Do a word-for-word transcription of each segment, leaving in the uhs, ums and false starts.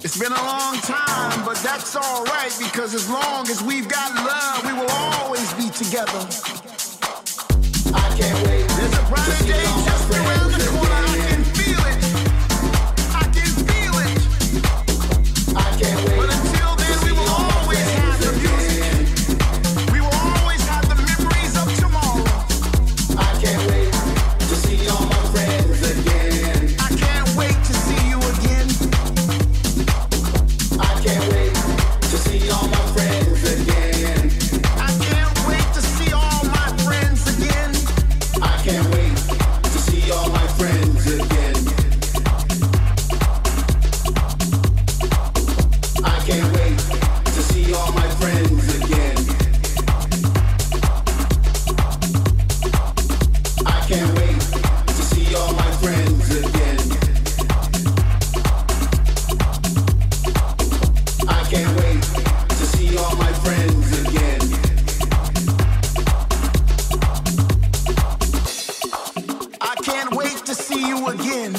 It's been a long time, but that's all right, because as long as we've got love, we will always be together. I can't wait. There's a brighter day just around the corner. I can feel it. I can feel it. I can't wait. But until then, we will always have the music. We will always have the memories of tomorrow. I can't wait to see all my friends again. I can't wait to see you again. I can't wait to see all my friends again. I can't wait to see all my friends again. I can't wait to see all my friends again. I can't wait to see all my friends again. I can't wait to see all my friends again. I can't wait to see all my friends again. I can't wait to see you again.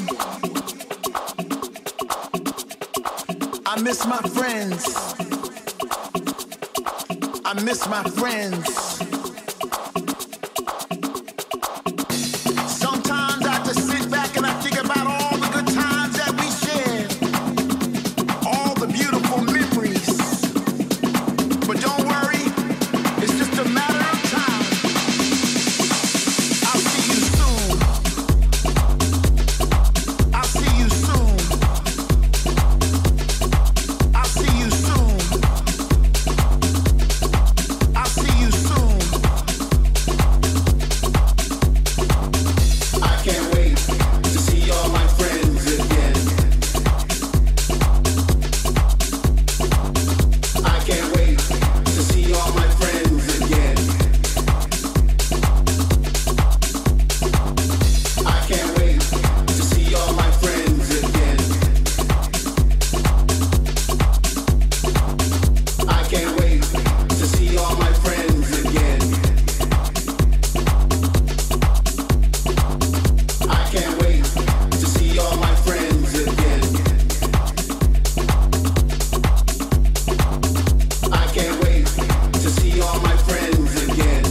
I miss my friends. I miss my friends. Sometimes I just sit back and I think about all the good times that we shared, all the beautiful memories. But don't worry, it's just a matter of time. I'll see you soon. I'll see you soon. I'll see you soon. I'll see you soon. I can't wait to see all my friends again. I can't wait to see all my friends again. I can't wait to see all my friends again. I can't wait to see all my friends again. I can't wait to see all my friends again. I can't wait to see all my friends again.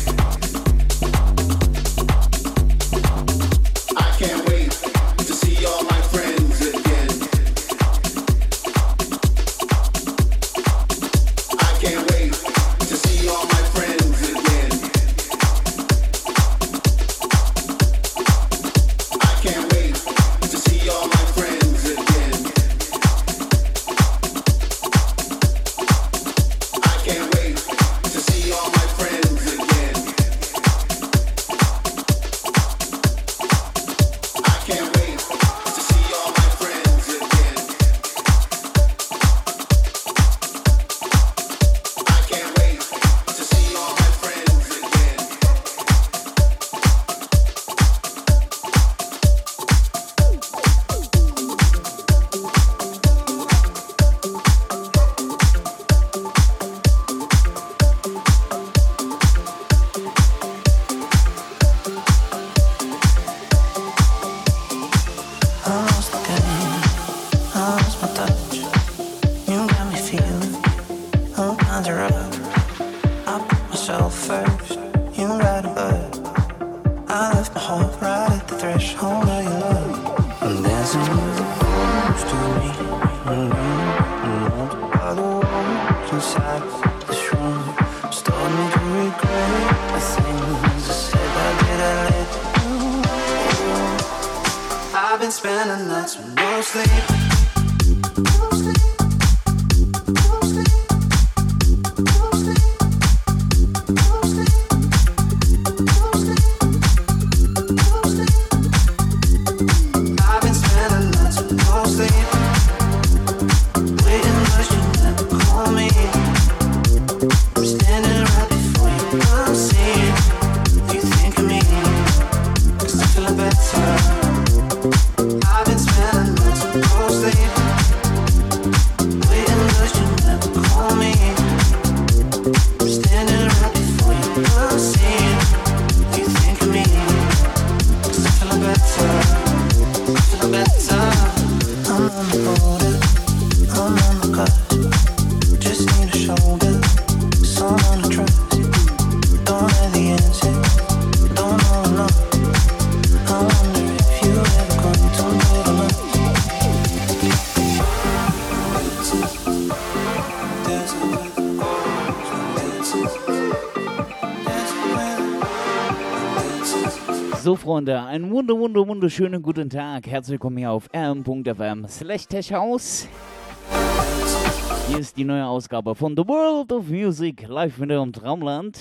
I can't wait to see all my friends again. I can't wait to see all my friends again. I can't wait to see all my friends again. I can't wait to see all my friends again. I can't wait to see all my friends again. I can't wait to see all my friends again. I lost the game, I lost my touch. You got me feeling all kinds of rough. I put myself first, you right above. I left my heart right at the threshold of your love. I'm dancing with the ghost of me, and you know by the walls inside this room. Starting to regret the things I said I did. I let you go. I've been spending nights with no sleep. No sleep. No sleep. No sleep. No sleep. No sleep. No sleep. I've been spending nights with no sleep. Waiting, but you never call me. I'm standing right before you. I'm seeing you think of me. 'Cause I'm feeling better. I've been spending nights with no sleep. Waiting, but you never call me. I'm standing right before you. I'm seeing you think of me. 'Cause I'm feeling better. I'm feeling better. I'm on the board. So, Freunde, einen wunder, wunder, wunderschönen guten Tag. Herzlich willkommen hier auf r m punkt f m slash tech house. Hier ist die neue Ausgabe von The World of Music, live mit eurem Traumland.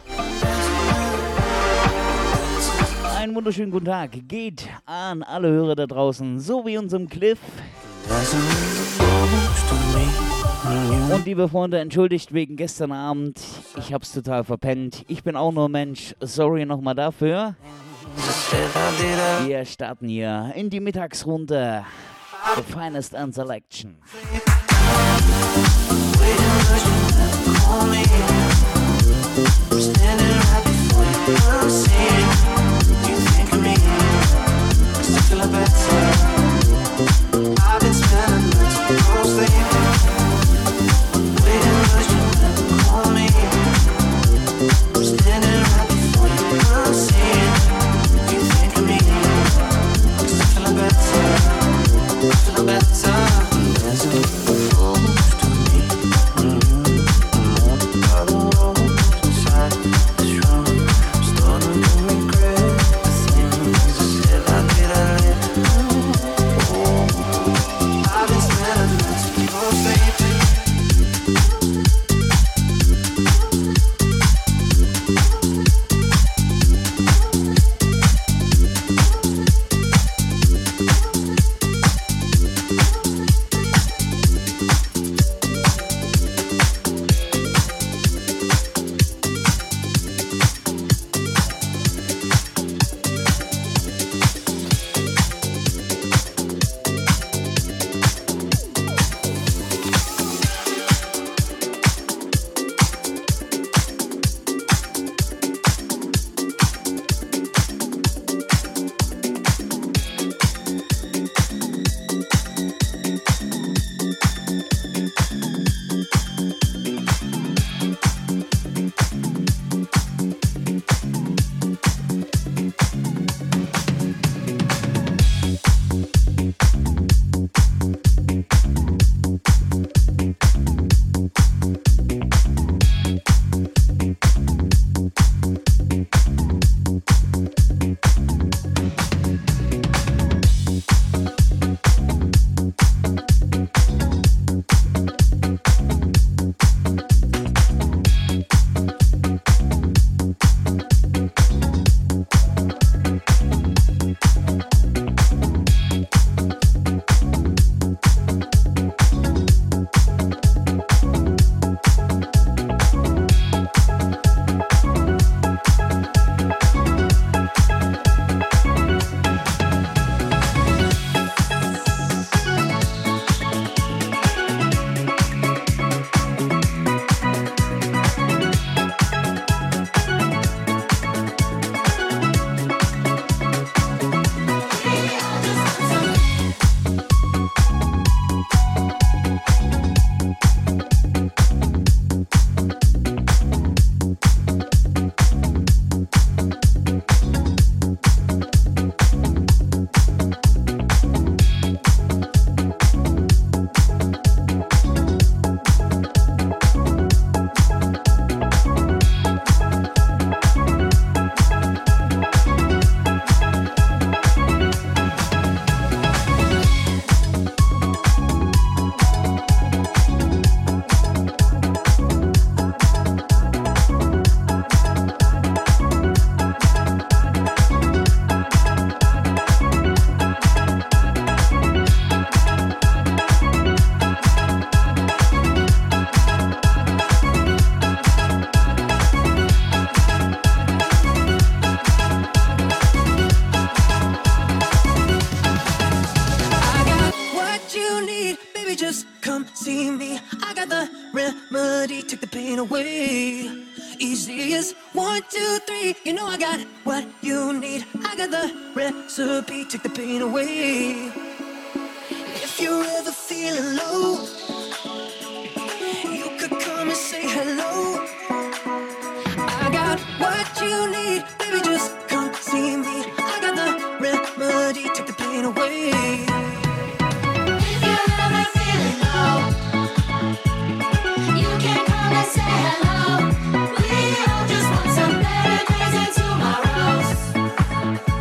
Einen wunderschönen guten Tag geht an alle Hörer da draußen, so wie unserem Cliff. Und liebe Freunde, entschuldigt wegen gestern Abend, ich hab's total verpennt. Ich bin auch nur Mensch, sorry nochmal dafür. Wir starten hier in die Mittagsrunde. The finest and selection. I've been spending nights mostly waiting for you to call me. I'm standing right before you, I'm seeing you think of me. 'Cause I'm feeling better, I'm feeling better. There's a ghost to me and you. I'm all by the road inside this room. I'm starting to regret the things I said I did, I let. I've been spending nights mostly. Take the pain away. If you're ever feeling low, you could come and say hello. I got what you need, baby, just come see me. I got the remedy, take the pain away. If you're ever feeling low, you can come and say hello. We all just want some better days and tomorrows.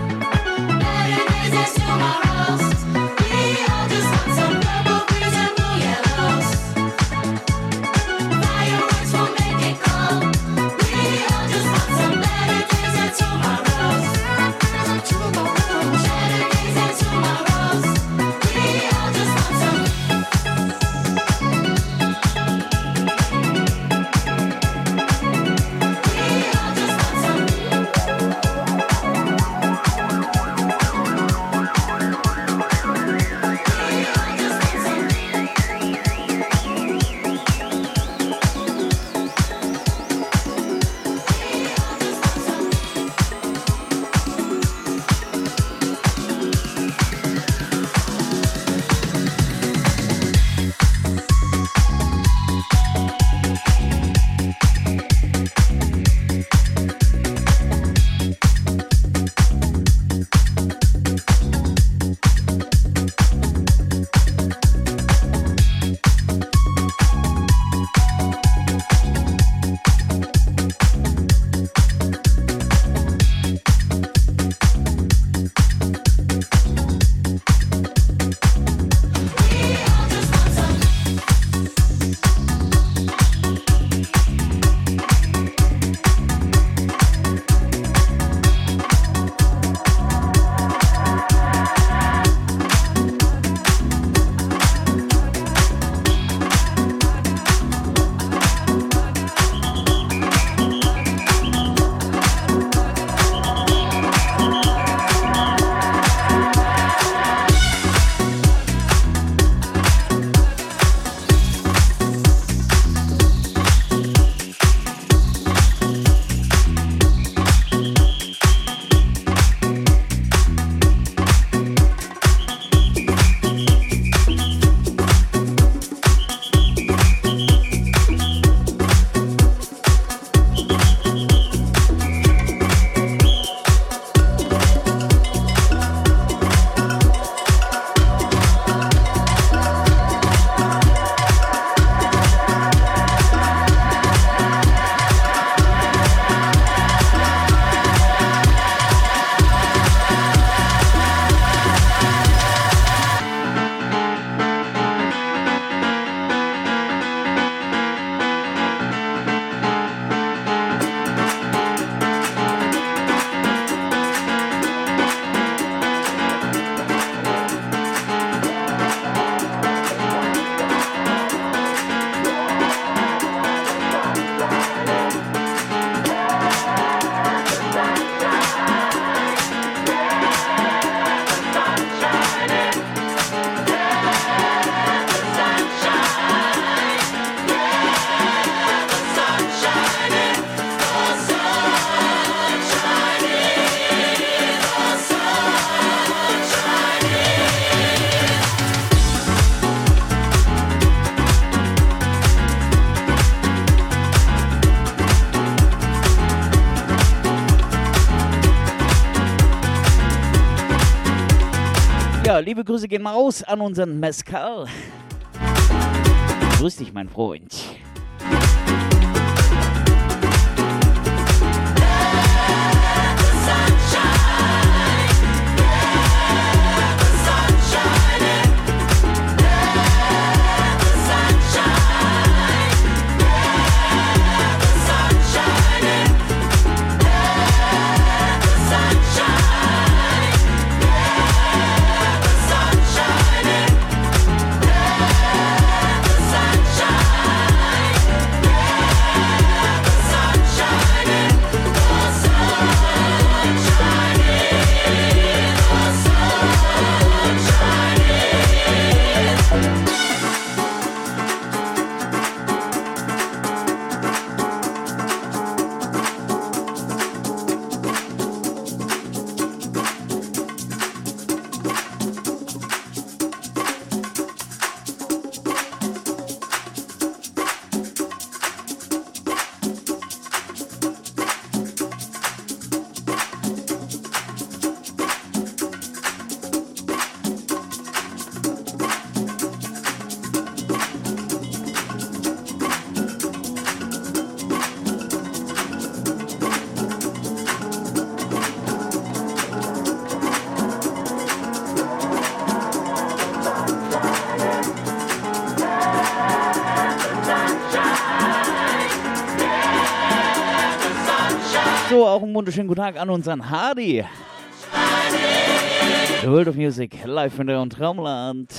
Ja, liebe Grüße gehen mal raus an unseren Mescal. Grüß dich, mein Freund. So, auch einen wunderschönen guten Tag an unseren Hardy. The World of Music, live in der und Traumland.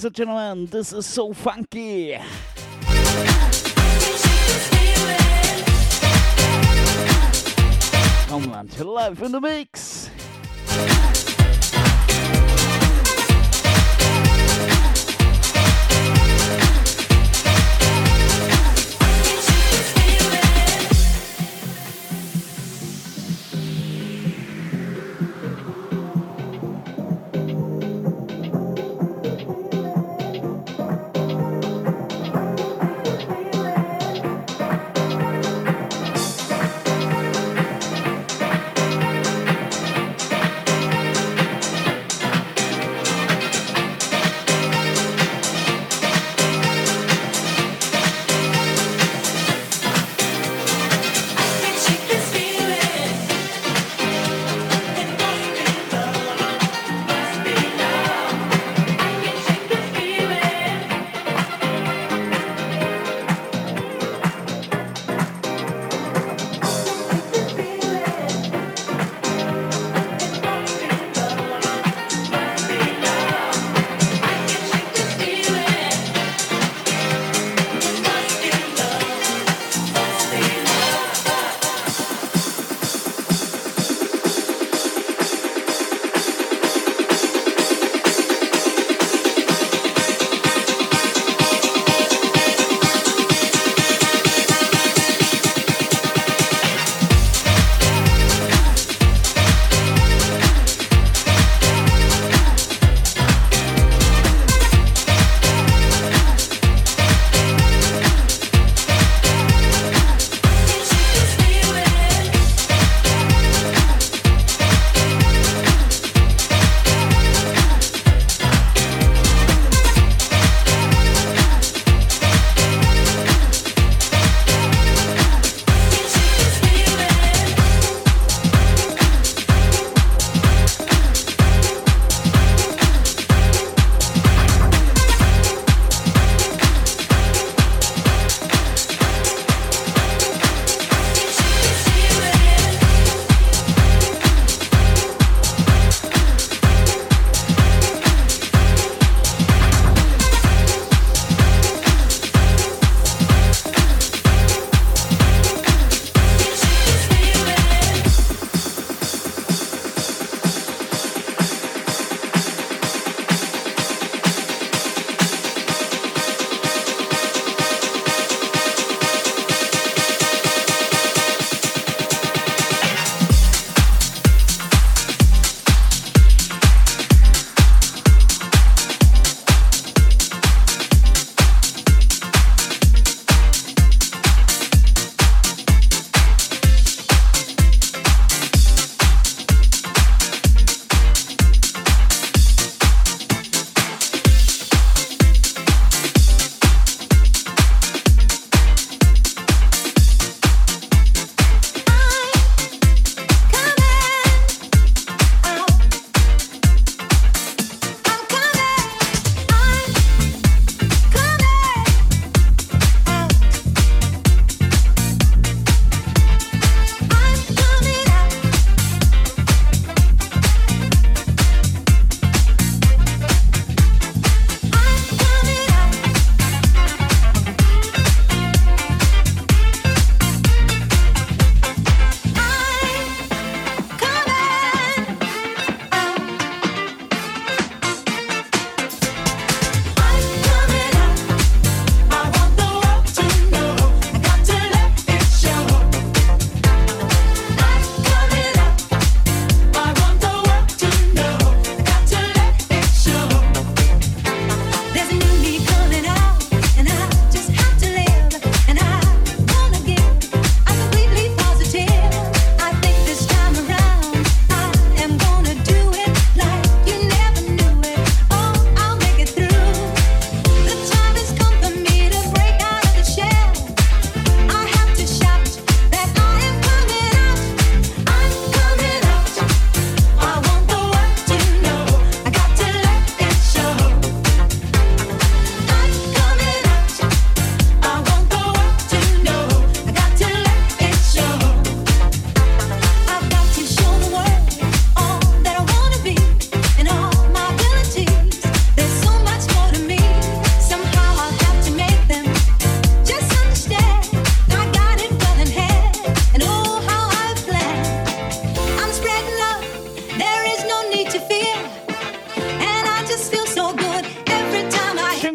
and gentlemen, this is so funky. Homeland live in the mix.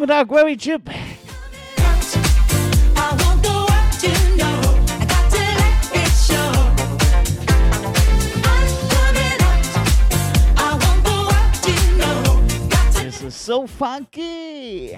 Schönen Tag, Very Chip. This is so funky.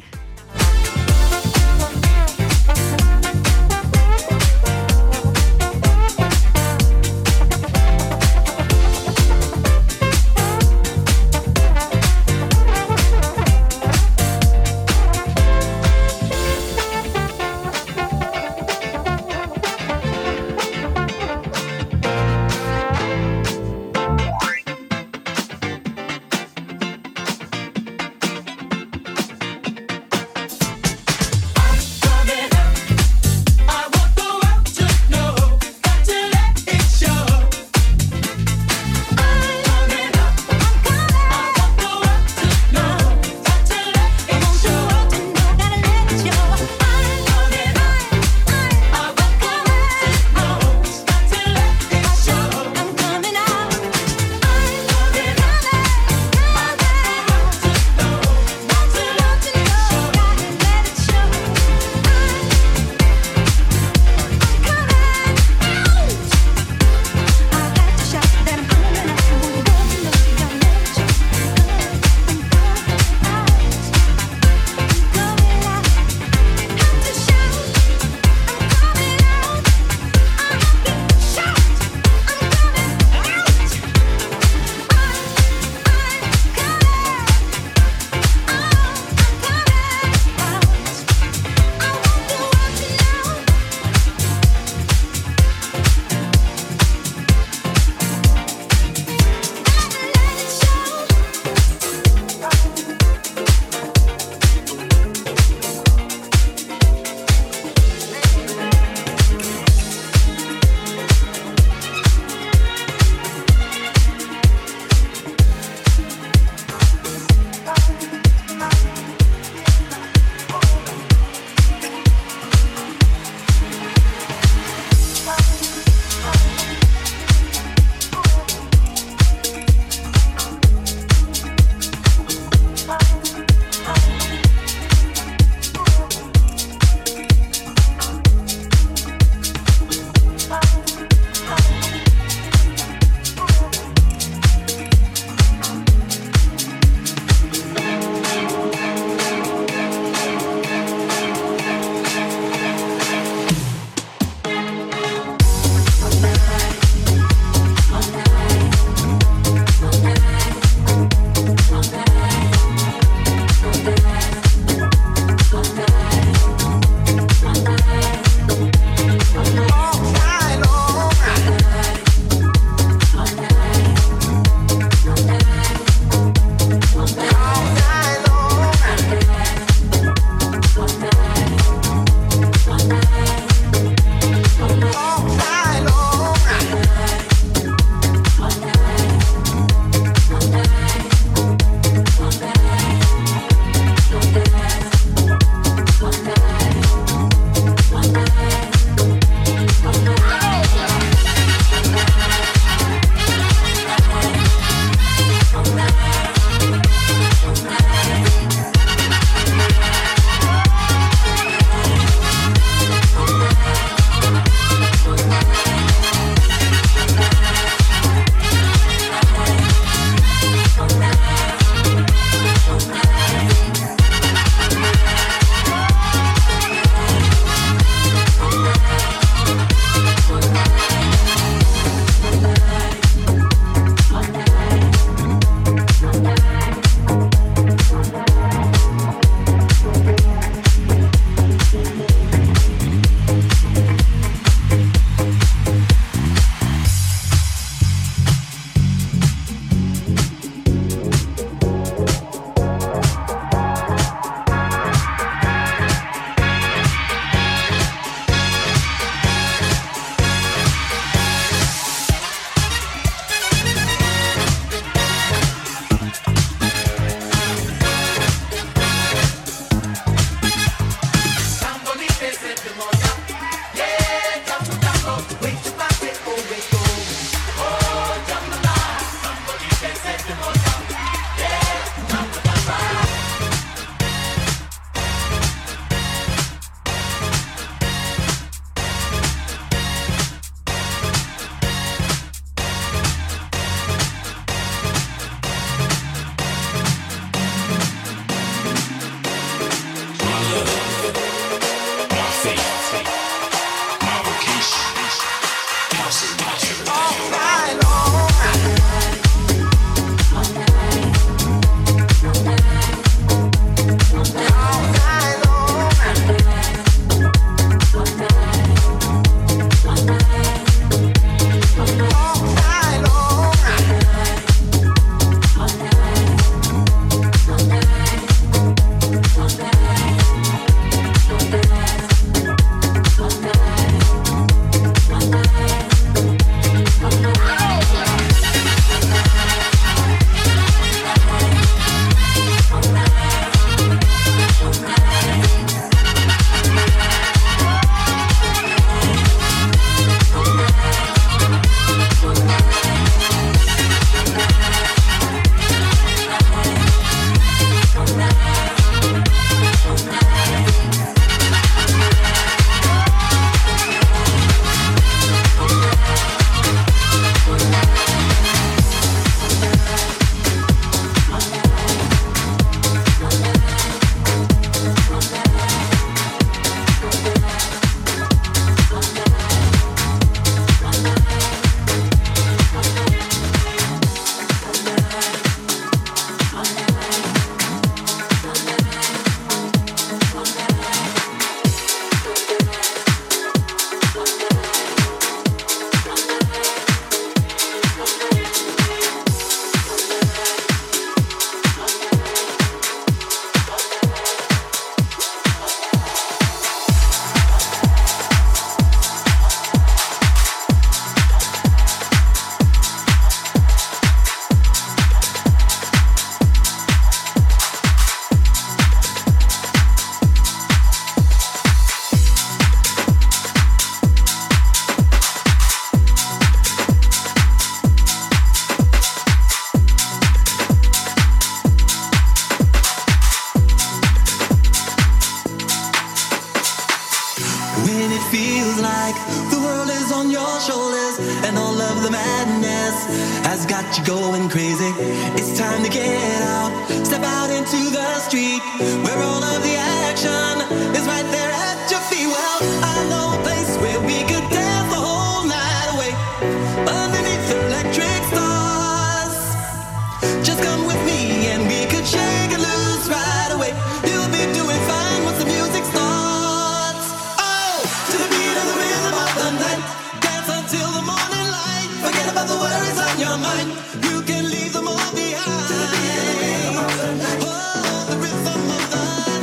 on your shoulders, and all of the madness has got you going crazy. It's time to get out, step out into the street, where all of the action is right there at your feet. Well, I know a place where we could dance the whole night away, underneath electric stars. Just come with me and we could shake it loose right away. You'll be doing fine once the music starts. Oh, to the beat of the rhythm of the night, dance until the morning light. Forget about the worries on your mind, you can leave them all behind. To the beat of the rhythm of the night, oh, the rhythm of the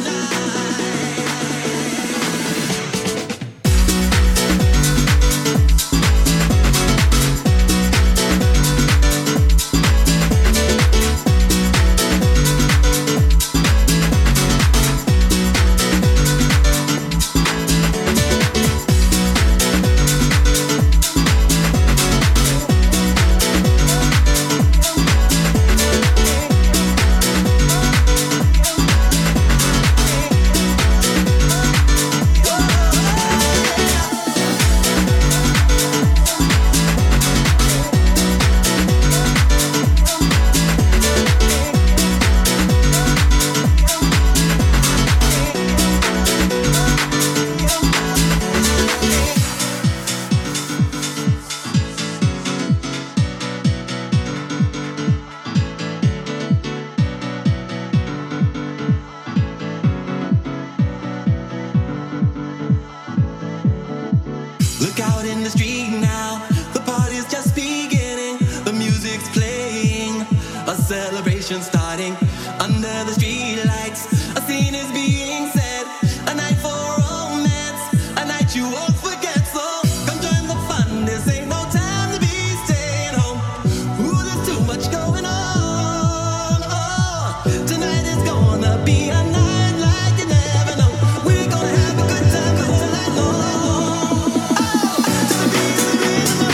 starting under the streetlights. A scene is being set, a night for romance, a night you won't forget. So come join the fun. This ain't no time to be staying home. Ooh, there's too much going on. Oh, tonight is gonna be a night like you never know. We're gonna have a good time all night long. Oh, to the beat of the rhythm.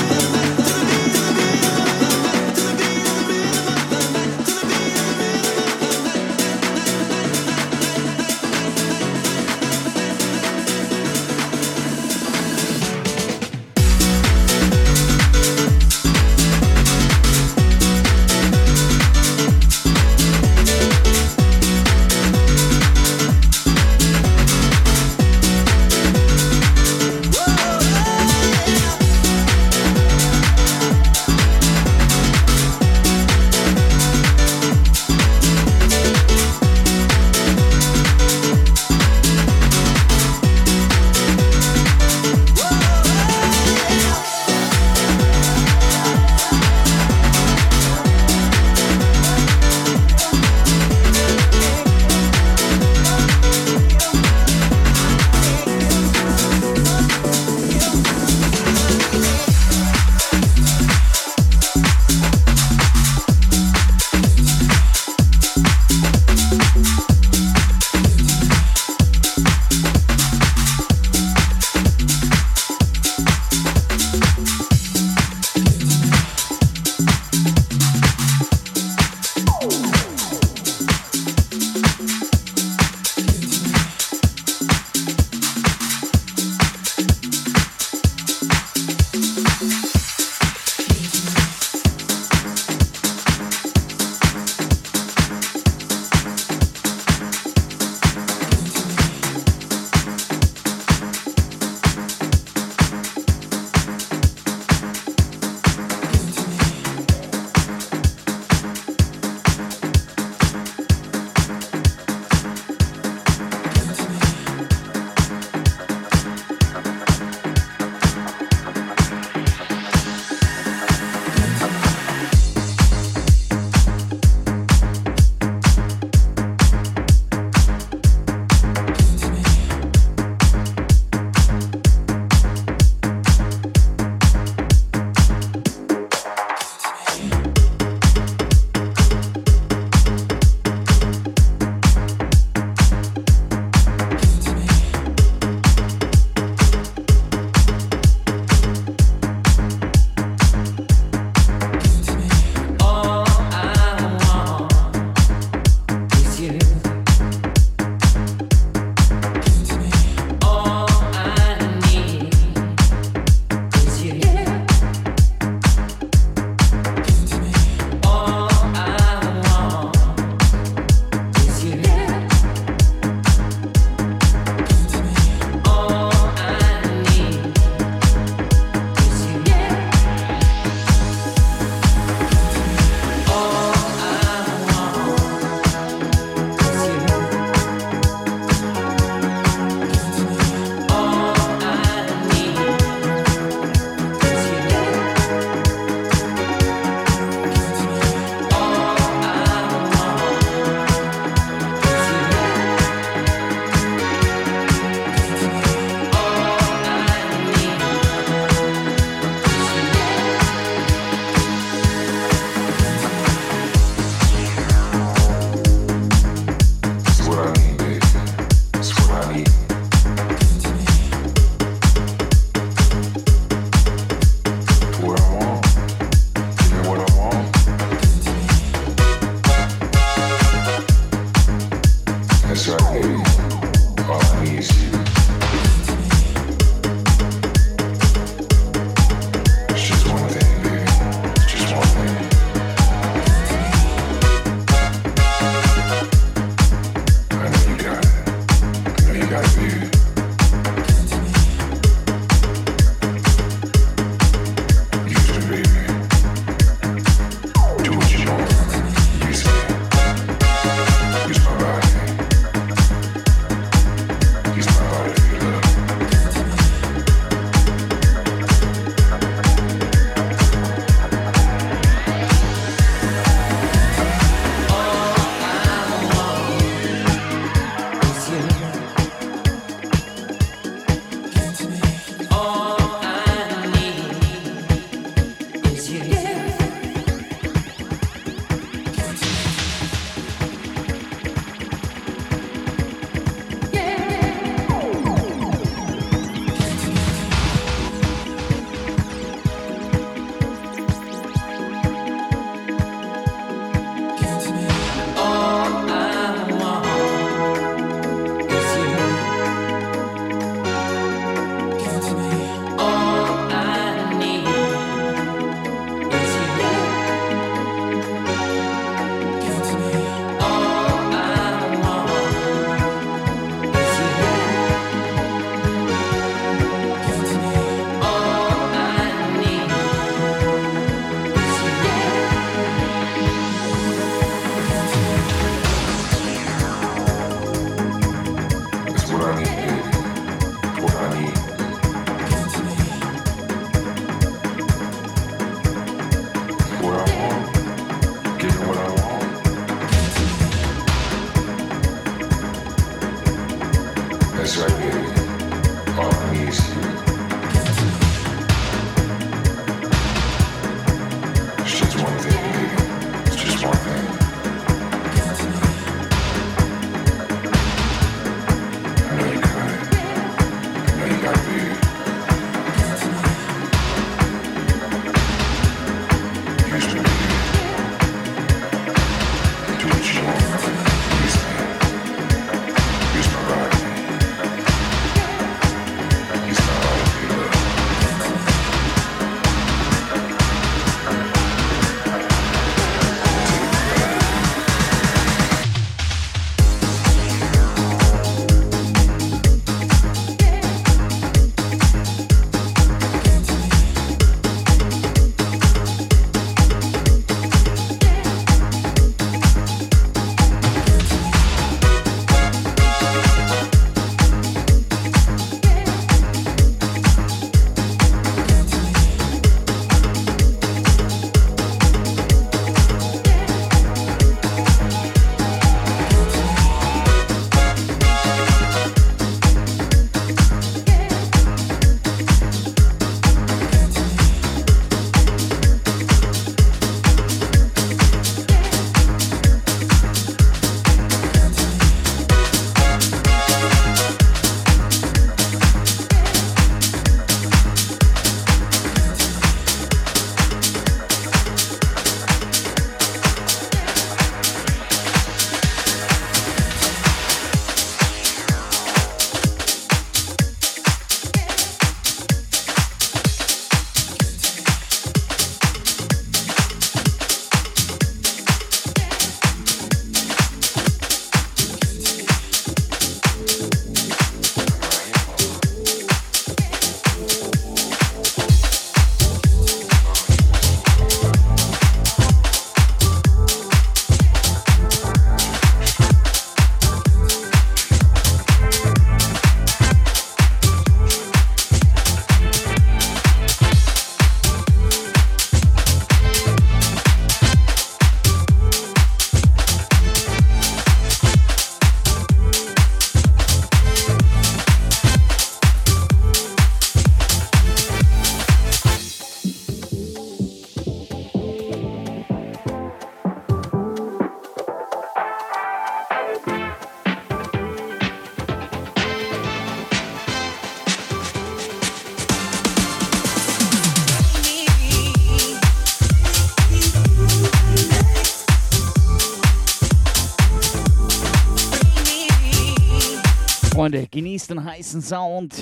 Freunde, genießt den heißen Sound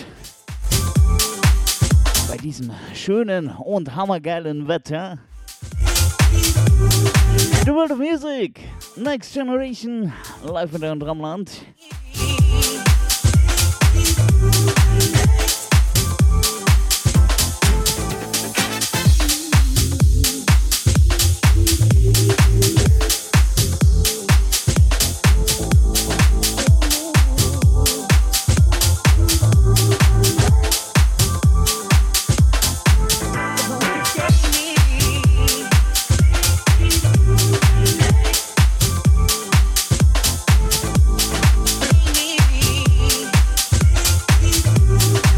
bei diesem schönen und hammergeilen Wetter. The World of Music, Next Generation, live in der Drumland. Me.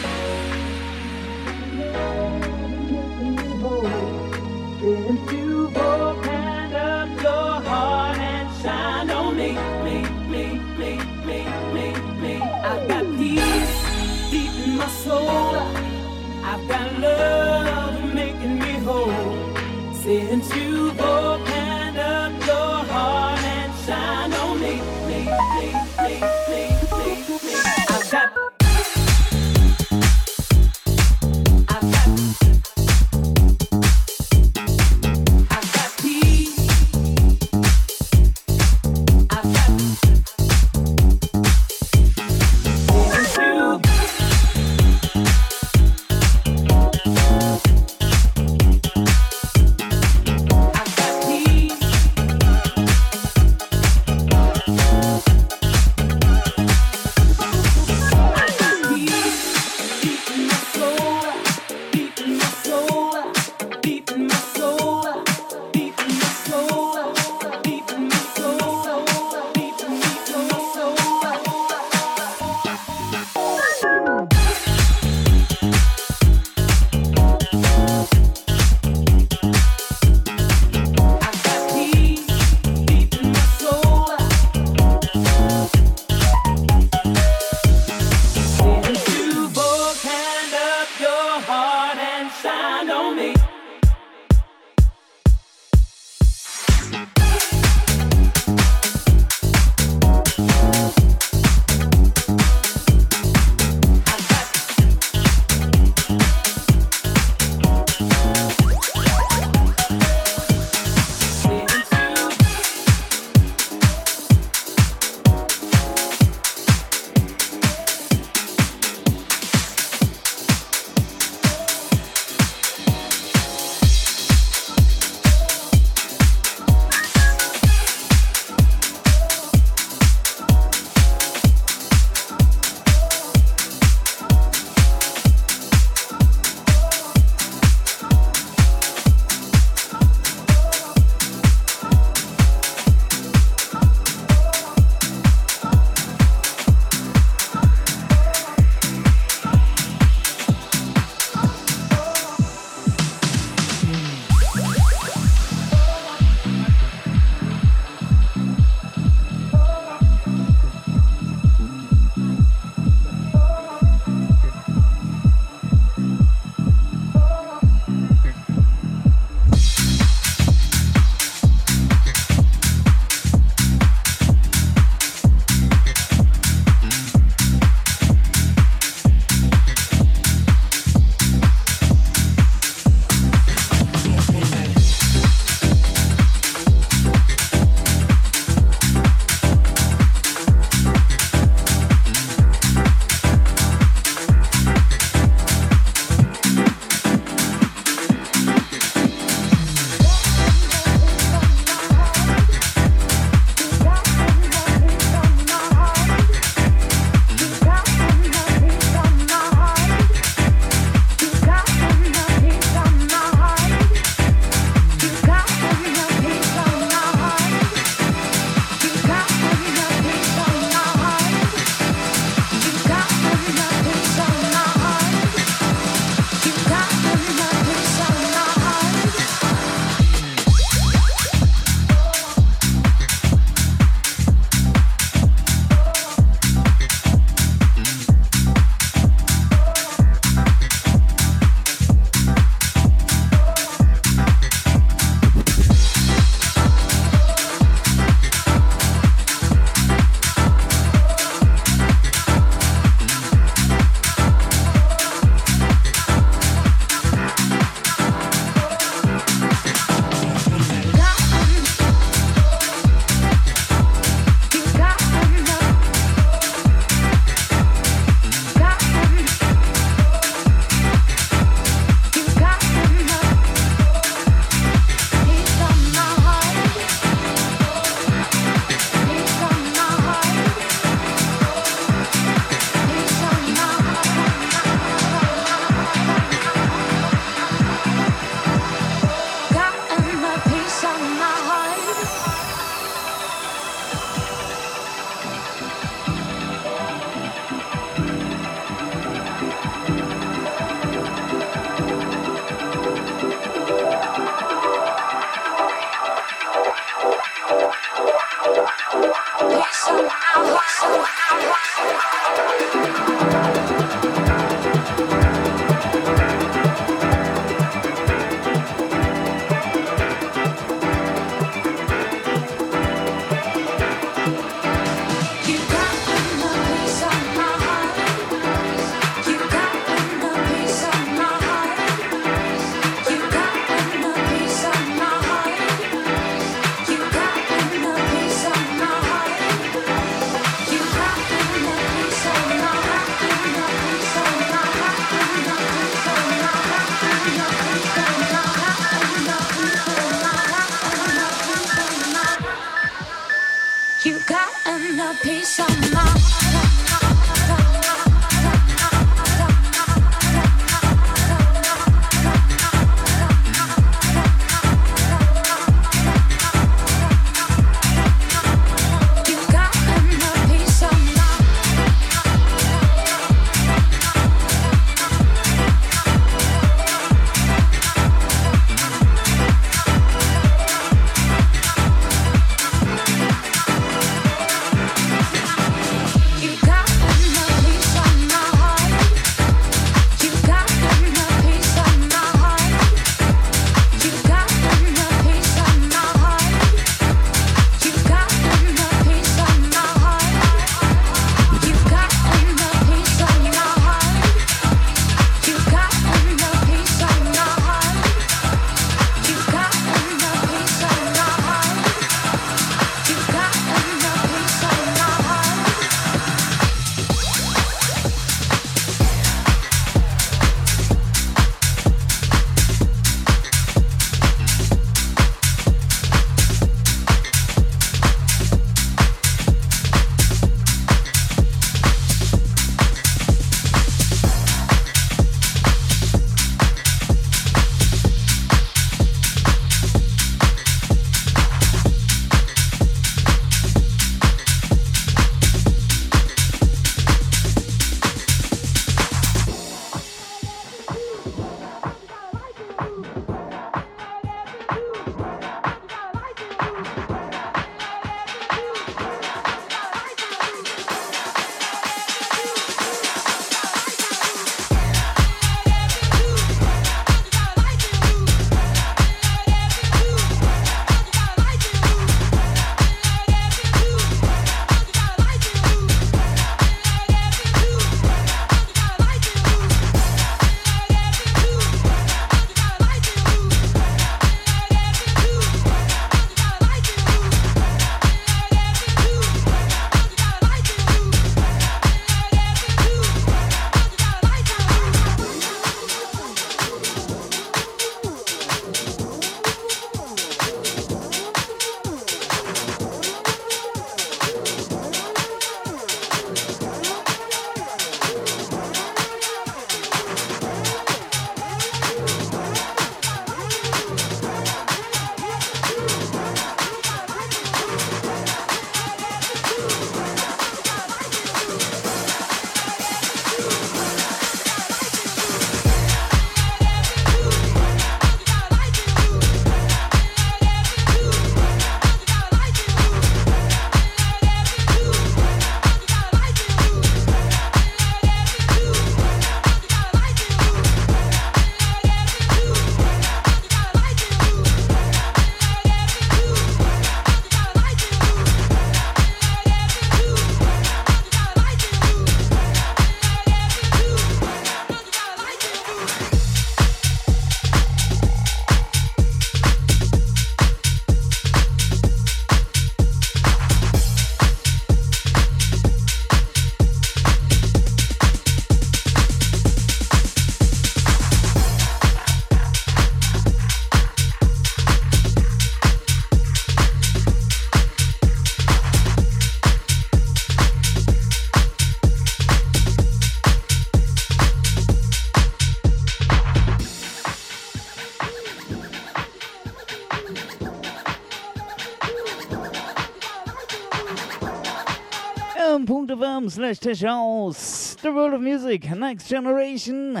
fm slash Tech House. The world of music, next generation.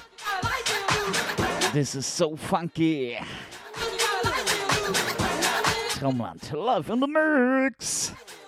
This is so funky. Traumland, live in the mix.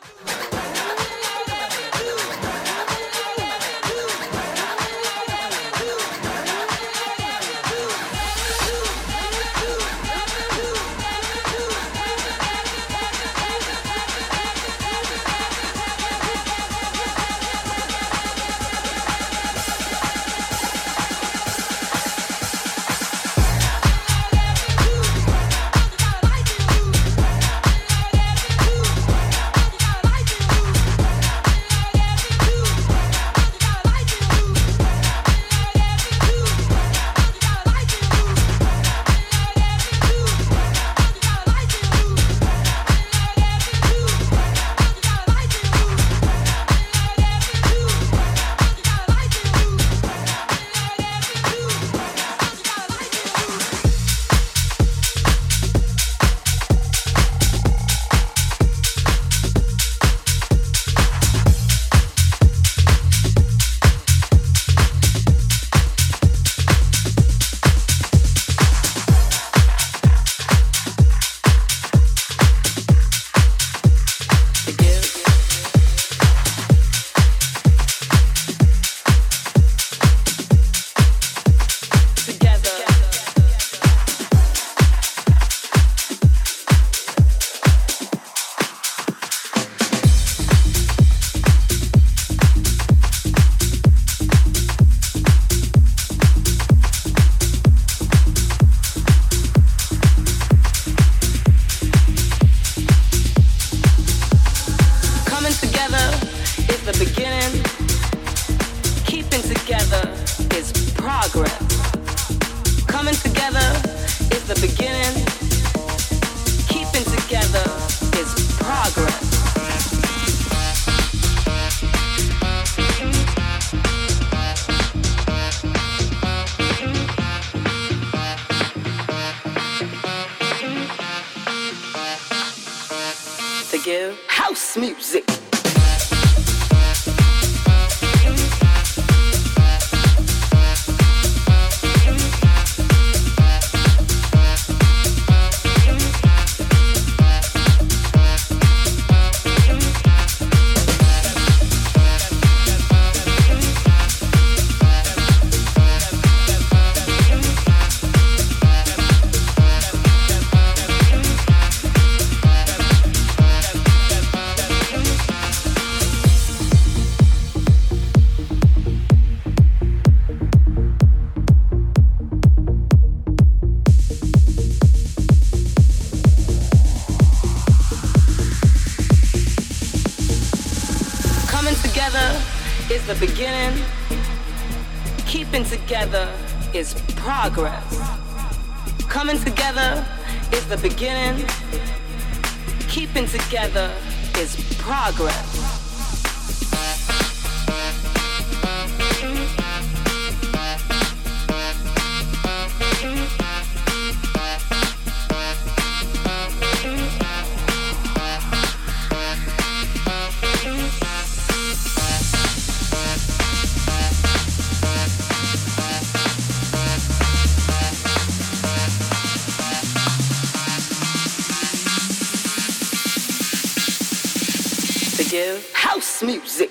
House music. The beginning, keeping together is progress. Coming together is the beginning, keeping together is progress. House music.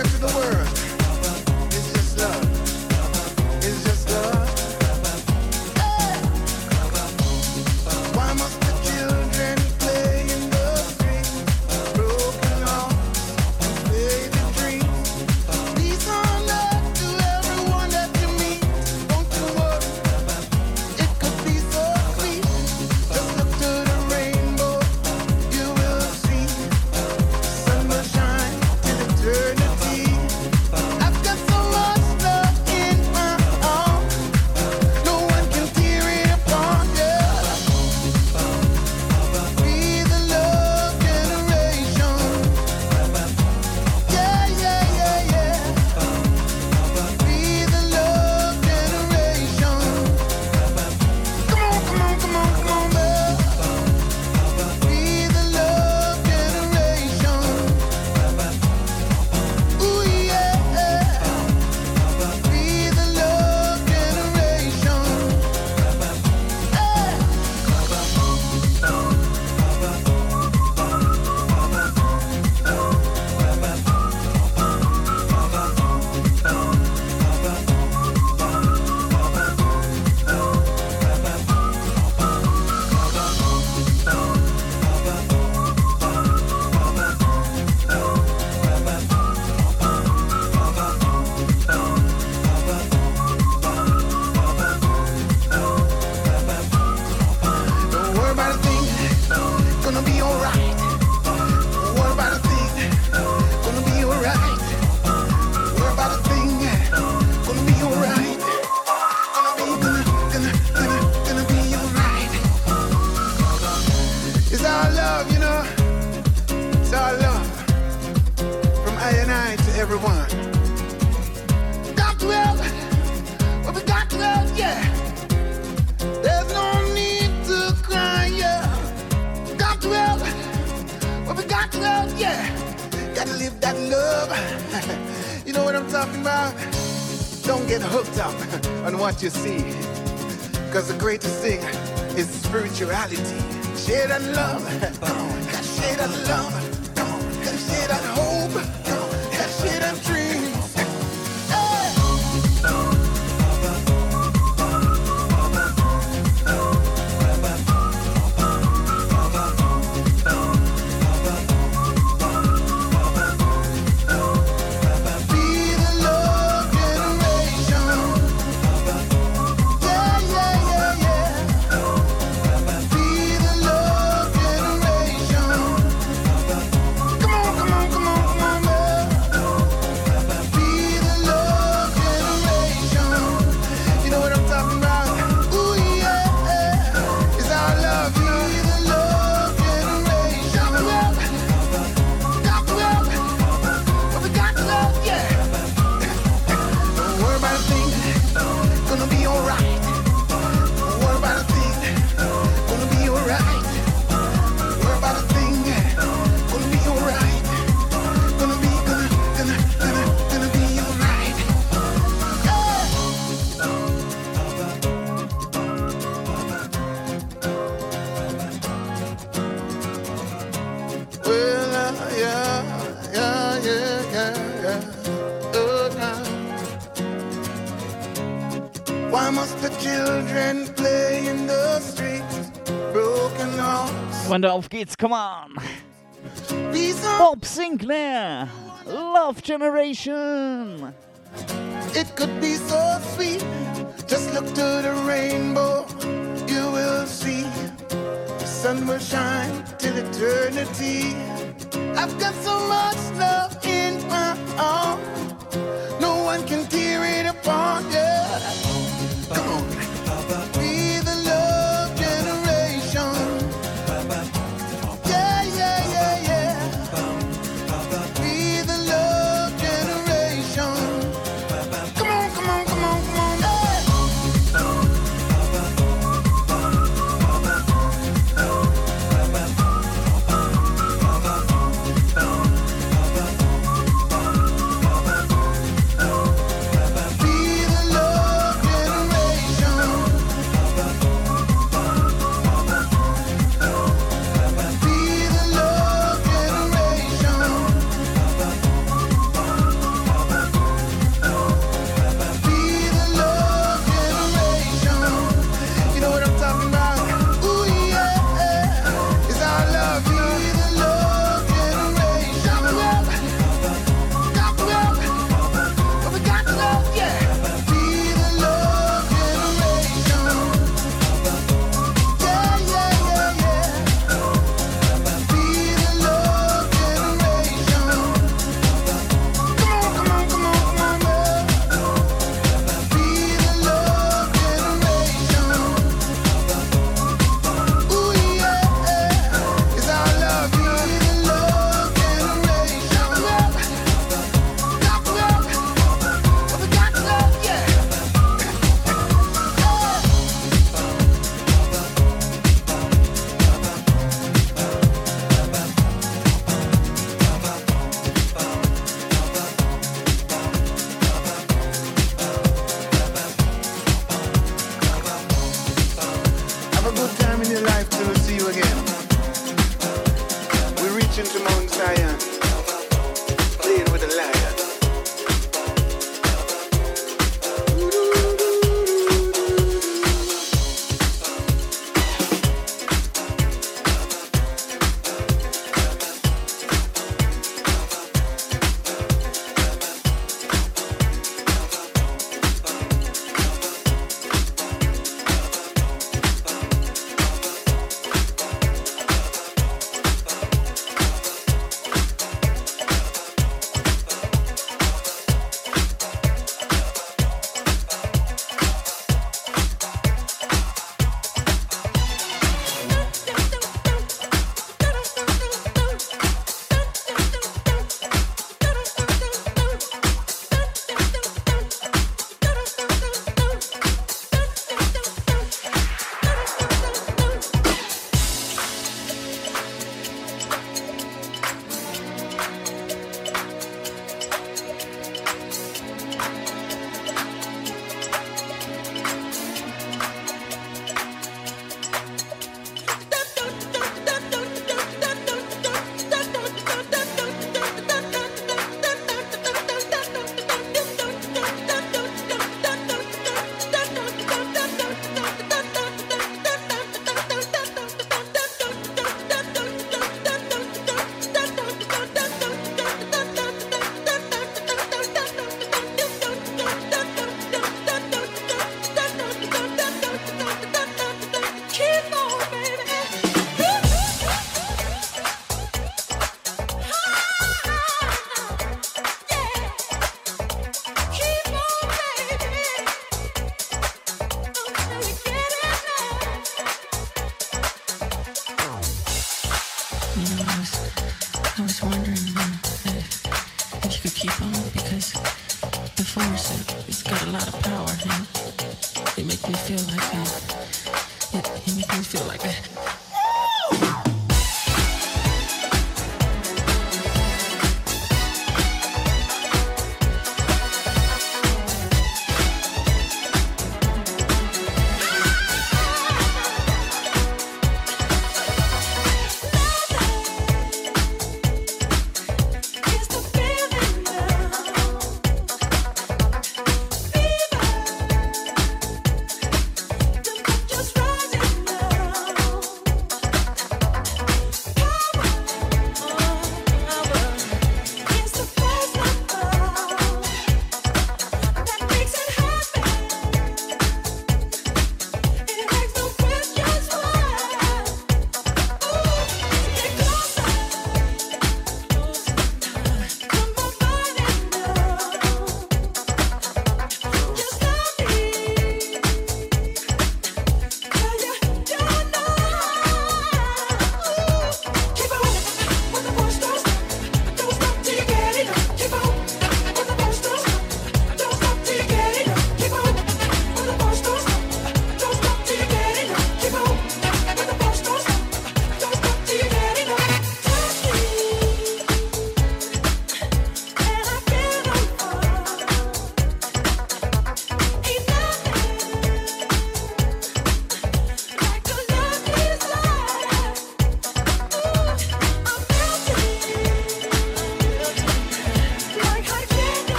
Africa to the world. It's just love. It's just love. Hey. Why must the children play in the streets? Broken hearts, faded dreams. Peace on earth to everyone that you meet. Don't you worry, it could be so sweet. Just look to the rainbow, you will see. Sun will shine till eternity. I've got so much love in my arms. No one can tear it apart, yeah. Be the love generation. Yeah, yeah, yeah, yeah. Be the love generation. Come on, come on, come on, come on, man. Be the love generation. Ooh, yeah. Be the love generation. Hey. Don't worry about a thing, gonna be alright. Don't worry about a thing, gonna be alright. Don't worry about a thing, gonna be alright. Gonna be, gonna, gonna, gonna, gonna be alright. It's our love, you know. It's our love from I and I to everyone. Got to help, but we got to help, yeah. There's no need to cry, yeah. Got to help, but we got to help, yeah. Gotta live that love. You know what I'm talking about? Don't get hooked up on what you see. Cause the greatest thing is spirituality. Share that love. Come on. Gotta share that love. Come on. Gotta share that hope. Come on. Gotta share that dreams. Hey. Be the love generation. Yeah, yeah, yeah, yeah. Be the love generation. Come on, come on, come on, come on, man. Be the love generation. You know what I'm talking about? Ooh, yeah. It's our love, you know. Be the love generation. Got to help, got to help, but we got to help, yeah. Don't worry about a thing, gonna be alright. Don't worry about a thing, gonna be alright. Don't worry about a thing, gonna be alright. Gonna be, gonna, gonna, gonna, gonna be alright. Yeah. Well, uh, yeah, yeah, yeah, yeah, yeah. Oh, now. Why must the children play in the streets? Broken hearts. Freunde, auf geht's, come on. Be so. Bob Sinclair, Love Generation. It could be so sweet. Just look to the rainbow, you will see. The sun will shine till eternity. I've got so much love in my arms. No one can tear it apart, yeah. Come on. Be the love generation. Yeah, yeah, yeah, yeah. Be the love generation. Come on, come on, come on, come on. Hey. force. It's got a lot of power. And it makes me feel like that. It, it makes me feel like that. Just rising now.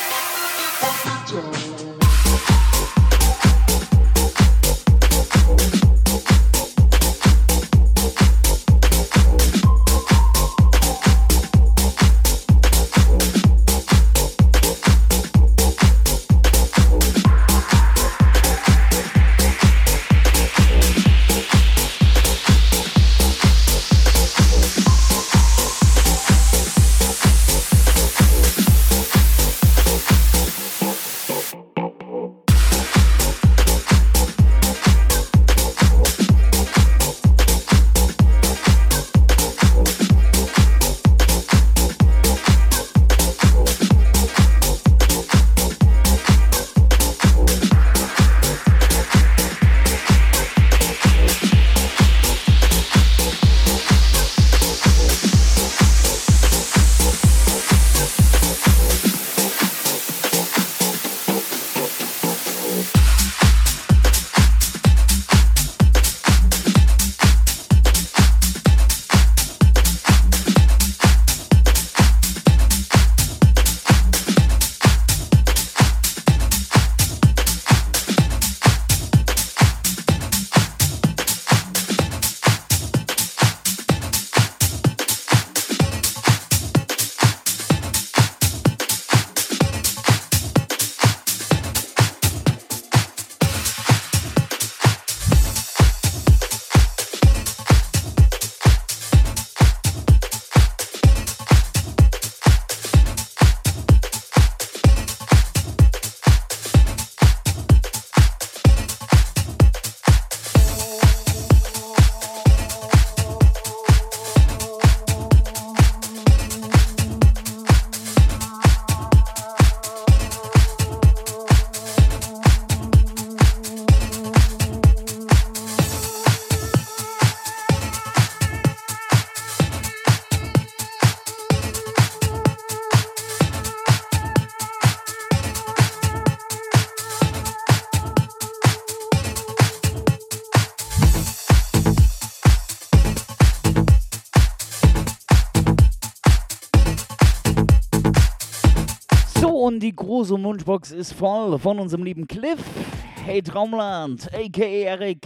Und die große Wunschbox ist voll von unserem lieben Cliff. Hey Traumland, a k a. Erik.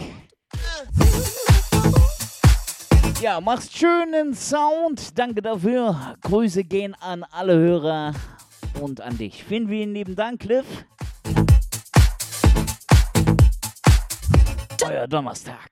Ja, machst schönen Sound. Danke dafür. Grüße gehen an alle Hörer und an dich. Vielen, vielen lieben Dank, Cliff. Euer Donnerstag.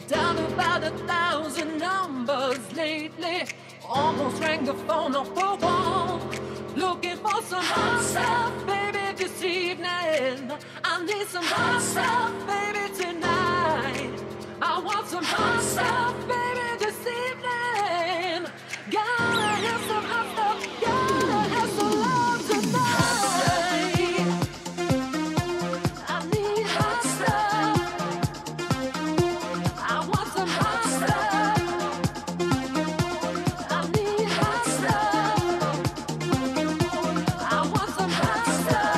down about a thousand numbers lately. Almost rang the phone off the wall. Looking for some hot stuff, baby, this evening. I need some hot stuff, baby, tonight. I want some hot stuff, baby, this evening. Gotta have some hot stuff, gotta have some love tonight. I need hot stuff. I want some hot stuff. I need hot stuff. I want some hot stuff.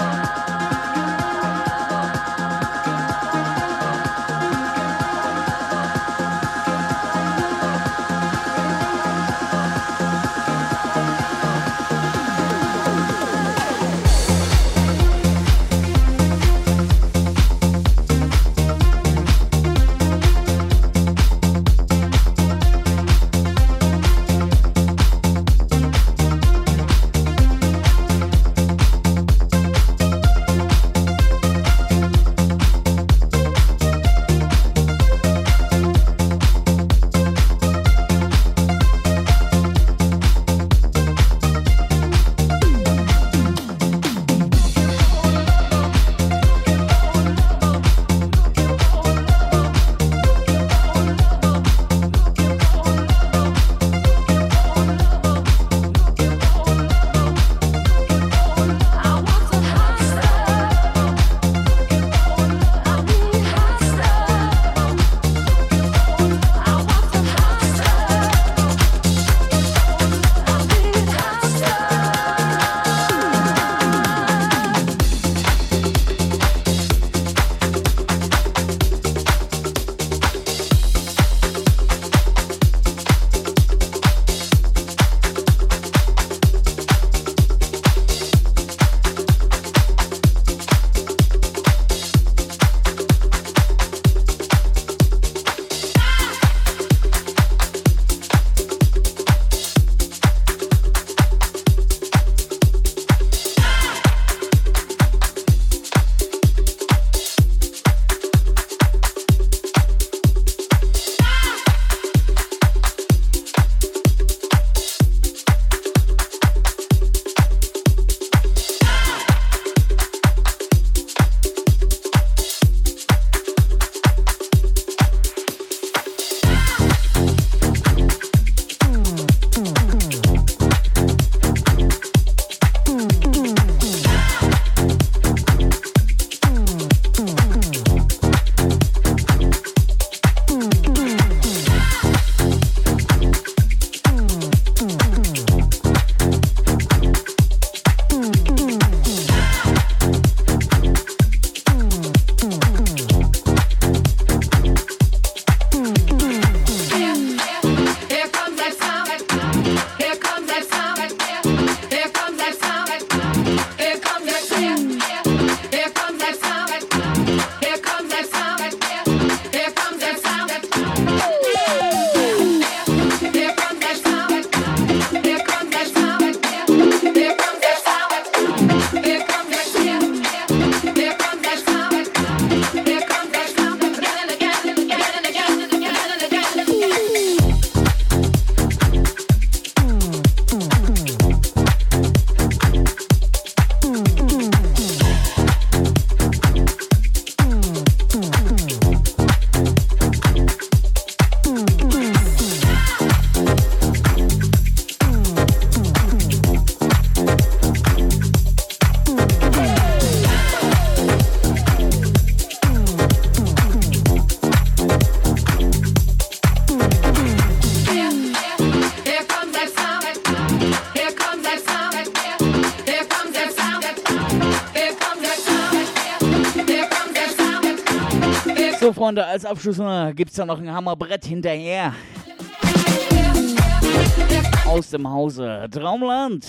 So, Freunde, als Abschluss gibt es da noch ein Hammerbrett hinterher. Aus dem Hause Traumland.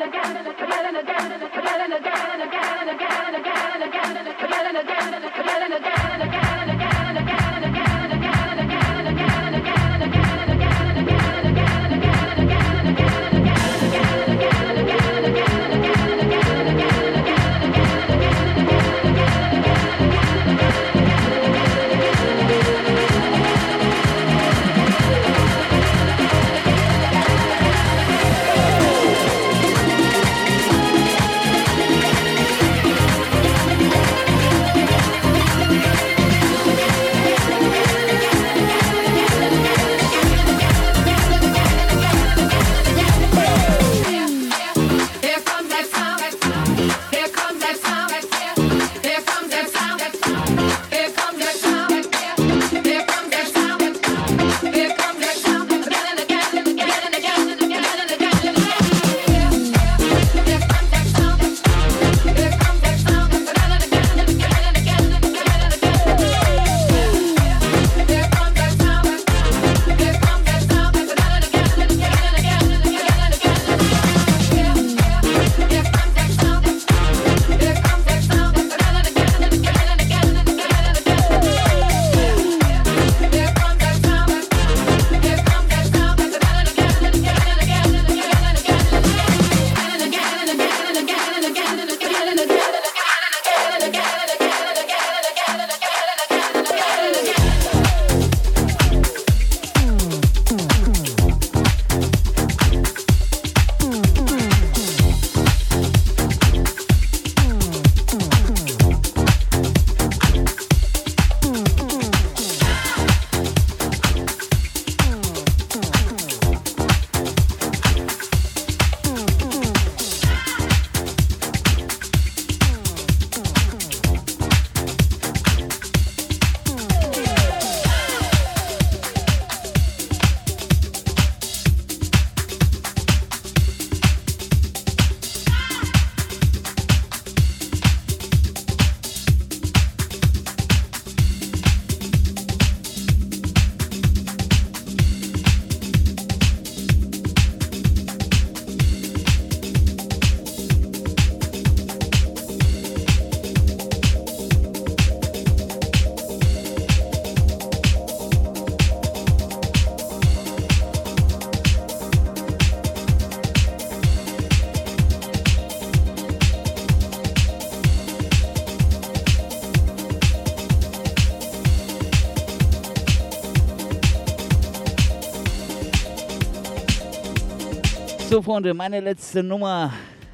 So, Freunde, meine letzte Nummer.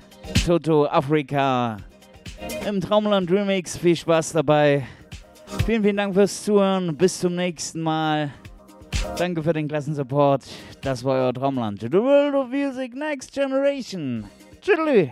Toto Afrika im Traumland Remix. Viel Spaß dabei. Vielen, vielen Dank fürs Zuhören. Bis zum nächsten Mal. Danke für den klassen Support. Das war euer Traumland. The World of Music Next Generation. Tschüss.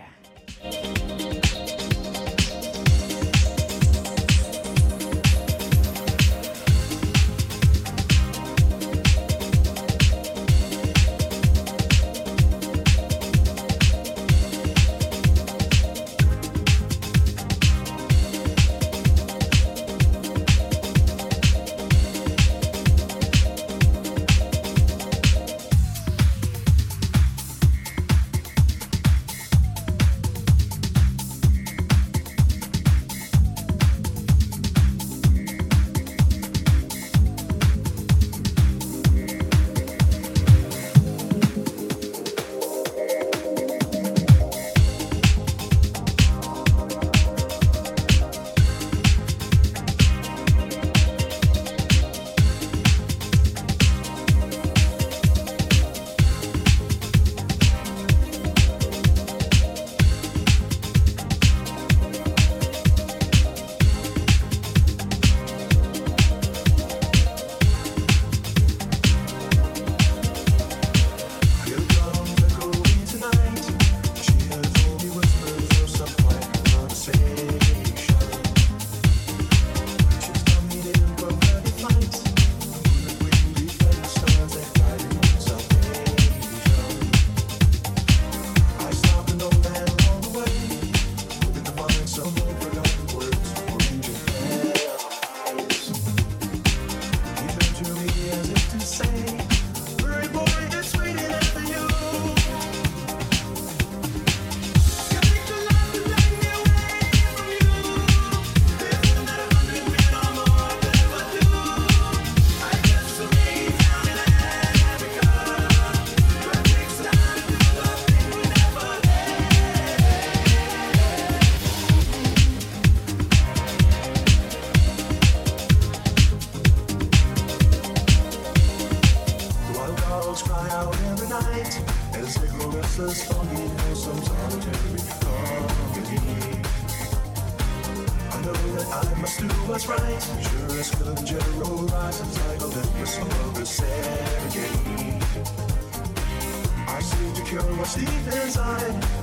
what's right. Sure as Kilimanjaro rises like Olympus above the Serengeti. I seem to cure what's deep inside.